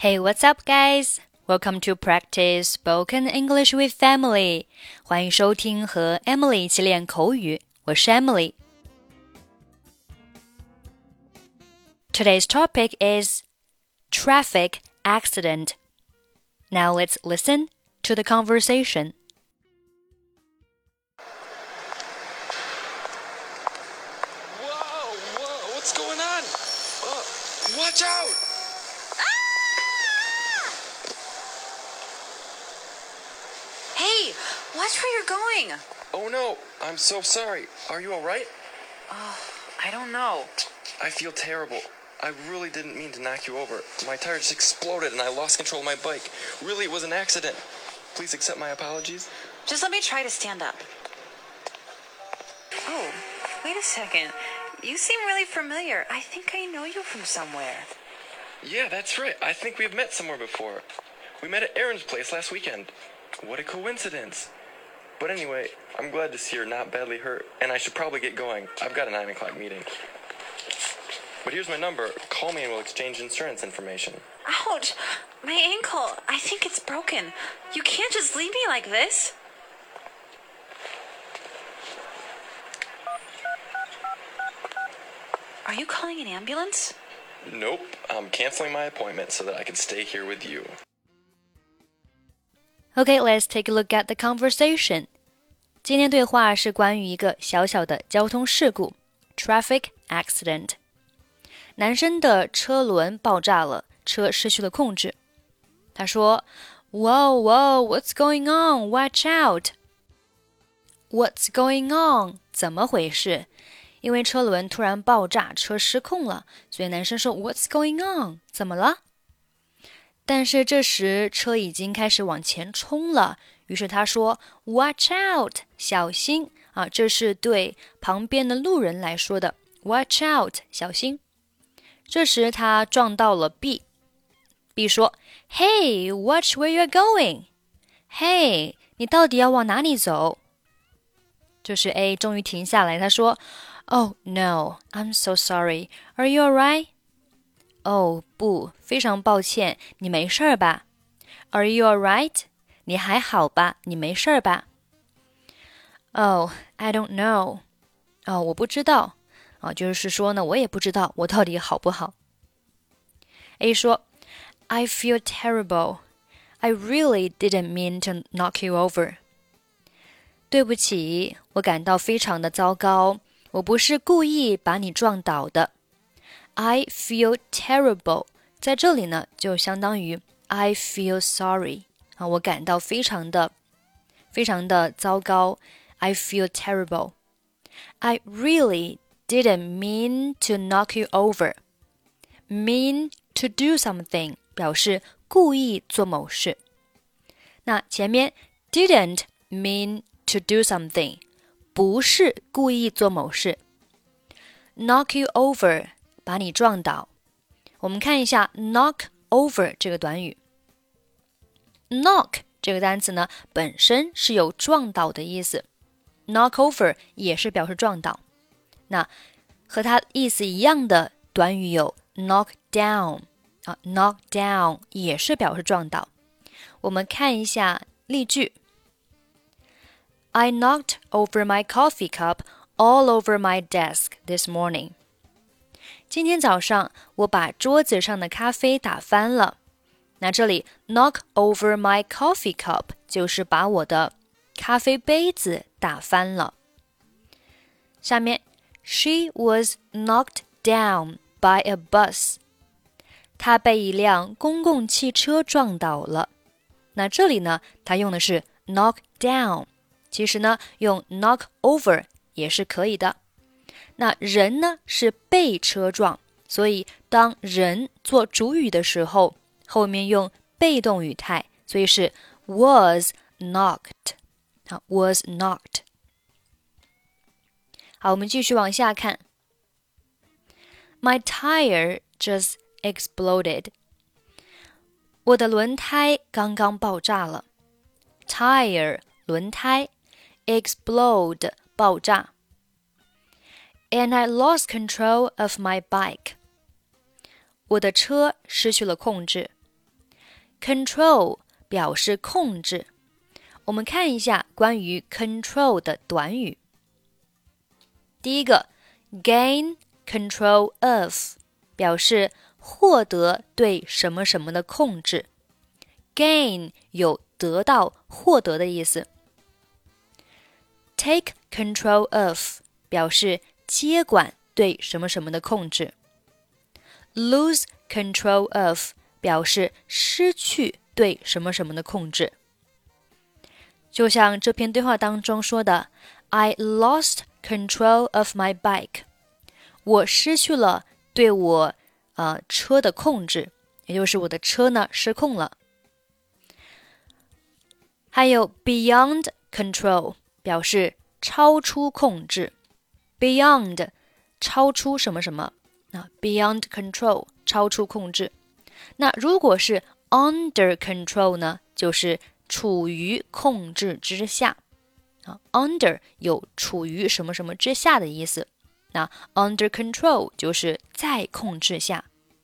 Hey, what's up, guys? Welcome to practice spoken English with Emily. 欢迎收听和 Emily 一起练口语，我是 Emily. Today's topic is traffic accident. Now let's listen to the conversation. Whoa, what's going on? Watch out!Hey, watch where you're going. Oh no, I'm so sorry. Are you alright? I don't know. I feel terrible. I really didn't mean to knock you over. My tire just exploded and I lost control of my bike. Really, it was an accident. Please accept my apologies. Just let me try to stand up. Oh, wait a second. You seem really familiar. I think I know you from somewhere. Yeah, that's right. I think we've met somewhere before. We met at Aaron's place last weekend. What a coincidence. But anyway, I'm glad to see you're not badly hurt, and I should probably get going. I've got a 9 o'clock meeting. But here's my number. Call me and we'll exchange insurance information. Ouch! My ankle. I think it's broken. You can't just leave me like this. Are you calling an ambulance? Nope. I'm canceling my appointment so that I can stay here with you. Okay, let's take a look at the conversation. 今天对话是关于一个小小的交通事故 traffic accident. 男生的车轮爆炸了，车失去了控制。他说 Whoa, what's going on? Watch out! What's going on? 怎么回事？因为车轮突然爆炸，车失控了，所以男生说 What's going on? 怎么了？但是这时车已经开始往前冲了，于是他说 Watch out! 小心啊！这是对旁边的路人来说的 Watch out! 小心。这时他撞到了 B 说 Hey, watch where you're going. Hey, 你到底要往哪里走？这时 A 终于停下来，他说 Oh, no, I'm so sorry. Are you alright? 哦，不，非常抱歉，你没事吧？ Are you alright? 你还好吧？你没事吧？ Oh, I don't know. 哦，我不知道。就是说呢，我也不知道我到底好不好。A 说 I feel terrible. I really didn't mean to knock you over. 对不起，我感到非常的糟糕，我不是故意把你撞倒的。I feel terrible. 在这里呢，就相当于 I feel sorry. 我感到非常的糟糕。I feel terrible. I really didn't mean to knock you over. Mean to do something 表示故意做某事。那前面 didn't mean to do something 不是故意做某事。Knock you over 把你撞倒。我们看一下 knock over 这个短语。knock 这个单词呢，本身是有撞倒的意思。knock over 也是表示撞倒。那和它意思一样的短语有 knock down knock down 也是表示撞倒。我们看一下例句。I knocked over my coffee cup all over my desk this morning. 今天早上我把桌子上的咖啡打翻了。那这里 knock over my coffee cup 就是把我的咖啡杯子打翻了。下面 She was knocked down by a bus. 她被一辆公共汽车撞倒了。那这里呢，它用的是 knock down， 其实呢，用 knock over 也是可以的。那人呢是被车撞，所以当人做主语的时候，后面用被动语态，所以是 was knocked。was knocked。好，我们继续往下看。My tire just exploded. 我的轮胎刚刚爆炸了。Tire 轮胎 explode 爆炸。And I lost control of my bike. 我的车失去了控制。 Control 表示控制。我们看一下关于 control 的短语。第一个 gain control of 表示获得对什么什么的控制。gain 有得到、获得的意思。Take control of 表示接管对什么什么的控制。Lose control of 表示失去对什么什么的控制。就像这篇对话当中说的 I lost control of my bike 我失去了对我车的控制，也就是我的车呢失控了。还有 beyond control 表示超出控制。 beyond 超出什么什么beyond control 超出控制。那如果是 under control 呢，就是处于控制之下。under 有处于什么什么之下的意思，那 under control 就是在控制下。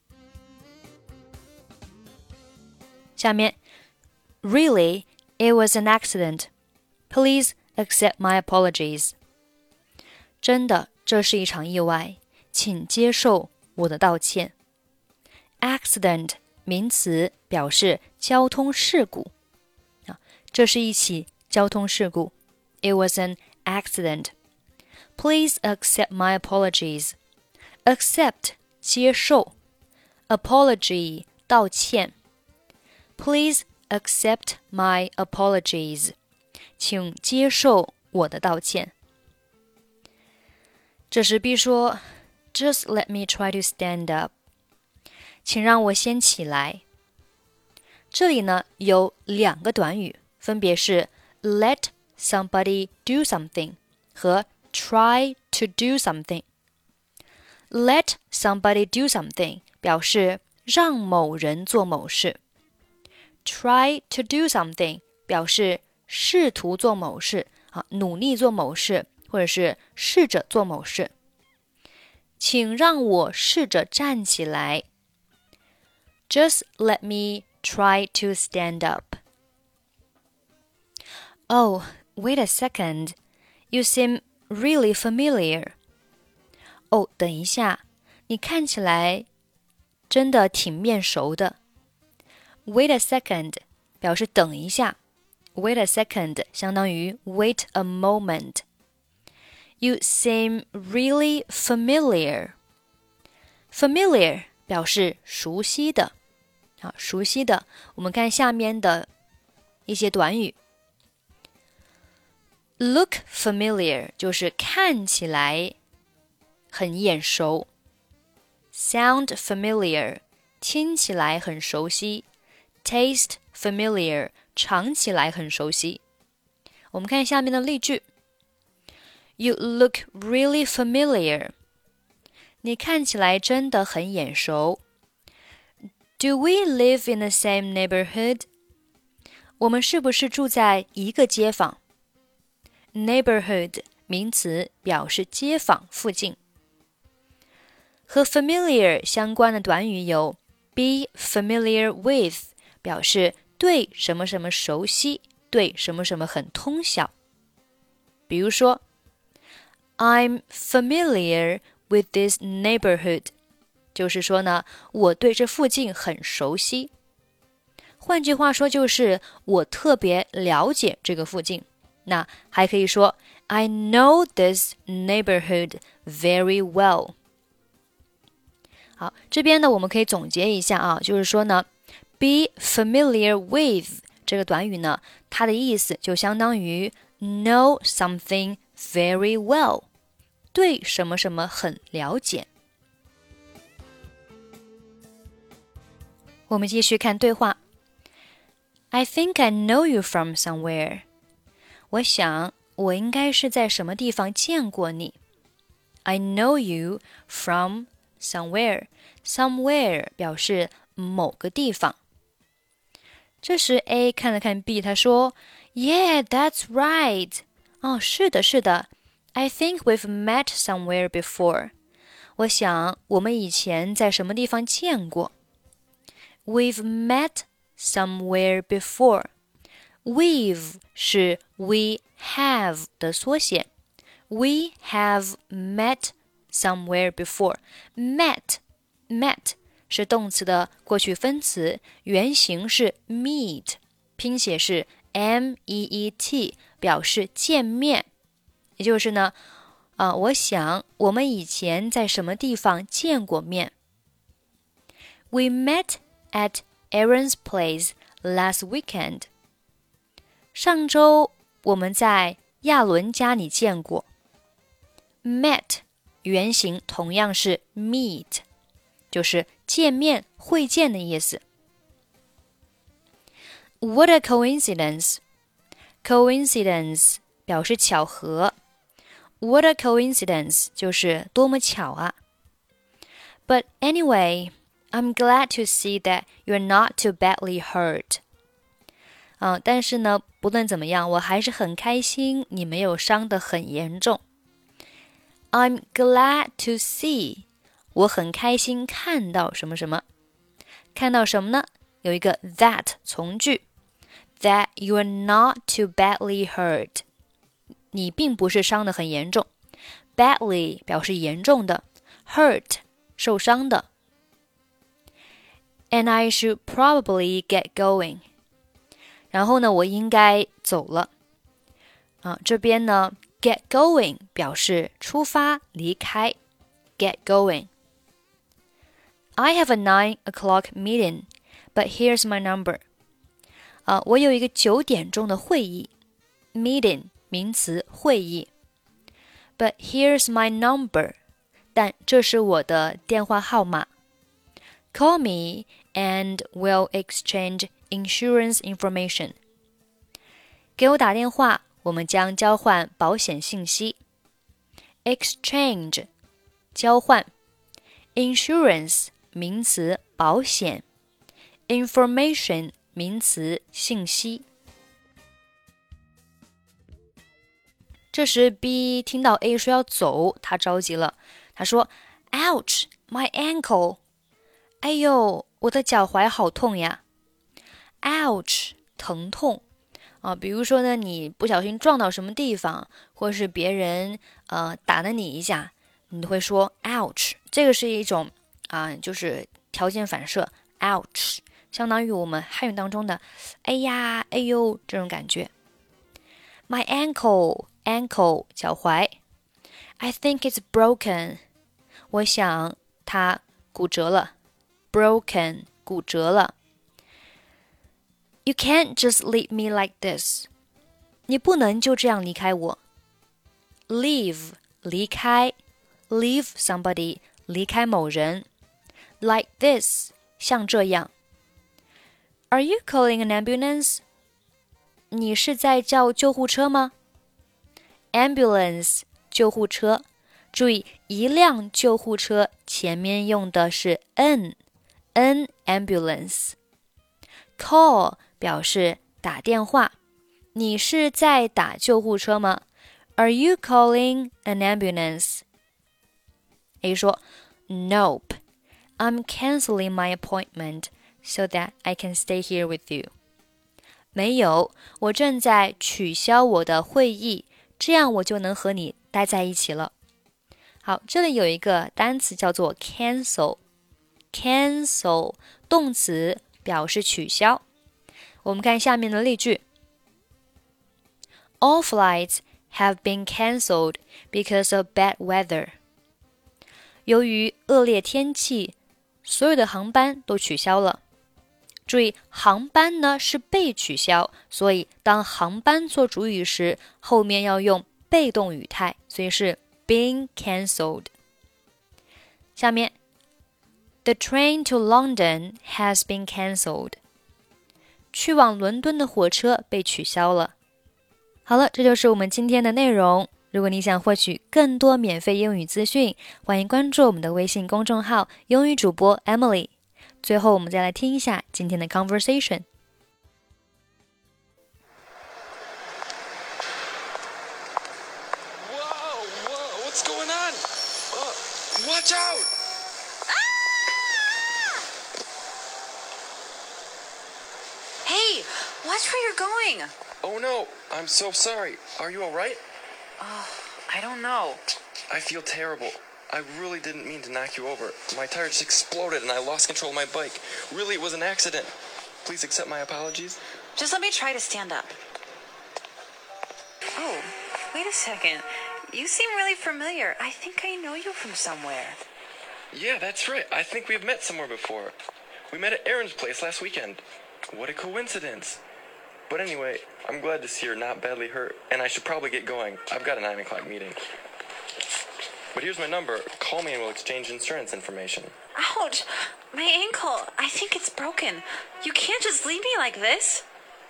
下面 Really, it was an accident. Please accept my apologies. 真的，这是一场意外，请接受我的道歉。Accident 名词表示交通事故，这是一起交通事故。It was an accident. Please accept my apologies. Accept 接受 apology 道歉。Please accept my apologies. 请接受我的道歉。这时 B 说 Just let me try to stand up. 请让我先起来。这里呢有两个短语，分别是 let somebody do something 和 try to do something. Let somebody do something 表示让某人做某事。Try to do something 表示试图做某事，努力做某事，或者是试着做某事。请让我试着站起来。Just let me try to stand up. Oh, wait a second. You seem really familiar. 哦，等一下，你看起来真的挺面熟的。Wait a second 表示等一下。Wait a second 相当于 wait a moment. You seem really familiar. Familiar 表示熟悉的。熟悉的，我们看下面的一些短语。Look familiar 就是看起来很眼熟。Sound familiar 听起来很熟悉。Taste familiar 尝起来很熟悉。我们看下面的例句。You look really familiar. 你看起来真的很眼熟。Do we live in the same neighborhood? 我们是不是住在一个街坊？ Neighborhood 名词表示街坊附近。和 familiar 相关的短语有 be familiar with 表示对什么什么熟悉，对什么什么很通晓。比如说 I'm familiar with this neighborhood 就是说呢，我对这附近很熟悉。换句话说就是我特别了解这个附近。那还可以说 I know this neighborhood very well. 好，这边呢我们可以总结一下就是说呢 be familiar with 这个短语呢，它的意思就相当于 know something very well. 对什么什么很了解。我们继续看对话。I think I know you from somewhere. 我想我应该是在什么地方见过你。I know you from somewhere. Somewhere 表示某个地方。这时 A 看了看 B， 他说 Yeah, that's right. 是的，是的。I think we've met somewhere before. 我想我们以前在什么地方见过。We've met somewhere before. We've 是 we have 的缩写。We have met somewhere before. Met 是动词的过去分词，原形是 meet， 拼写是 meet， 表示见面。也就是呢，我想我们以前在什么地方见过面。We met at Aaron's place last weekend. 上周我们在亚伦家里见过。Met 原型同样是 meet， 就是见面、会见的意思。What a coincidence! Coincidence 表示巧合。What a coincidence 就是多么巧啊。But anyway, I'm glad to see that you're not too badly hurt. 但是呢，不论怎么样，我还是很开心你没有伤得很严重。I'm glad to see. 我很开心看到什么什么。看到什么呢？有一个 that 从句。That you're not too badly hurt. 你并不是伤得很严重。Badly 表示严重的。Hurt 受伤的。And I should probably get going. 然后呢，我应该走了。这边呢 get going 表示出发离开。Get going. I have a 9 o'clock meeting, but here's my number. 我有一个9点钟的会议。Meeting 名词会议。But here's my number. 但这是我的电话号码。Call me and we'll exchange insurance information. 给我打电话，我们将交换保险信息。Exchange 交换。Insurance 名词保险。Information 名词信息。这时 B 听到 A 说要走，他着急了。他说 Ouch, my ankle. 哎呦，我的脚踝好痛呀。Ouch 疼痛。比如说呢，你不小心撞到什么地方，或是别人打了你一下，你会说 ouch。这个是一种就是条件反射 ouch， 相当于我们汉语当中的哎呀、哎呦这种感觉。My ankle 脚踝。I think it's broken. 我想它骨折了。Broken 骨折了。You can't just leave me like this. 你不能就这样离开我。Leave 离开。Leave somebody 离开某人。Like this 像这样。Are you calling an ambulance? 你是在叫救护车吗？ Ambulance 救护车。注意一辆救护车前面用的是 an ambulance。 Call 表示打电话。你是在打救护车吗？ Are you calling an ambulance? A 说 Nope, I'm canceling my appointment so that I can stay here with you. 没有，我正在取消我的会议，这样我就能和你待在一起了。好，这里有一个单词叫做 cancel。 Cancel 动词表示取消。我们看下面的例句。All flights have been cancelled because of bad weather. 由于恶劣天气，所有的航班都取消了。注意，航班呢是被取消，所以当航班做主语时，后面要用被动语态，所以是 being cancelled。 下面 The train to London has been cancelled. 去往伦敦的火车被取消了。好了，这就是我们今天的内容。如果你想获取更多免费英语资讯，欢迎关注我们的微信公众号英语主播 Emily。 最后我们再来听一下今天的 conversation。 Whoa, what's going on? Watch out! Watch where you're going. Oh no, I'm so sorry. Are you alright? I don't know. I feel terrible. I really didn't mean to knock you over. My tire just exploded and I lost control of my bike. Really, it was an accident. Please accept my apologies. Just let me try to stand up. Oh, wait a second. You seem really familiar. I think I know you from somewhere. Yeah, that's right. I think we've met somewhere before. We met at Aaron's place last weekend. What a coincidence. But anyway, I'm glad to see you're not badly hurt, and I should probably get going. I've got a 9 o'clock meeting. But here's my number. Call me and we'll exchange insurance information. Ouch! My ankle. I think it's broken. You can't just leave me like this.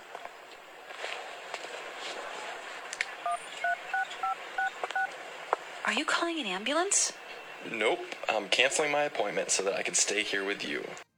Are you calling an ambulance? Nope, I'm canceling my appointment so that I can stay here with you.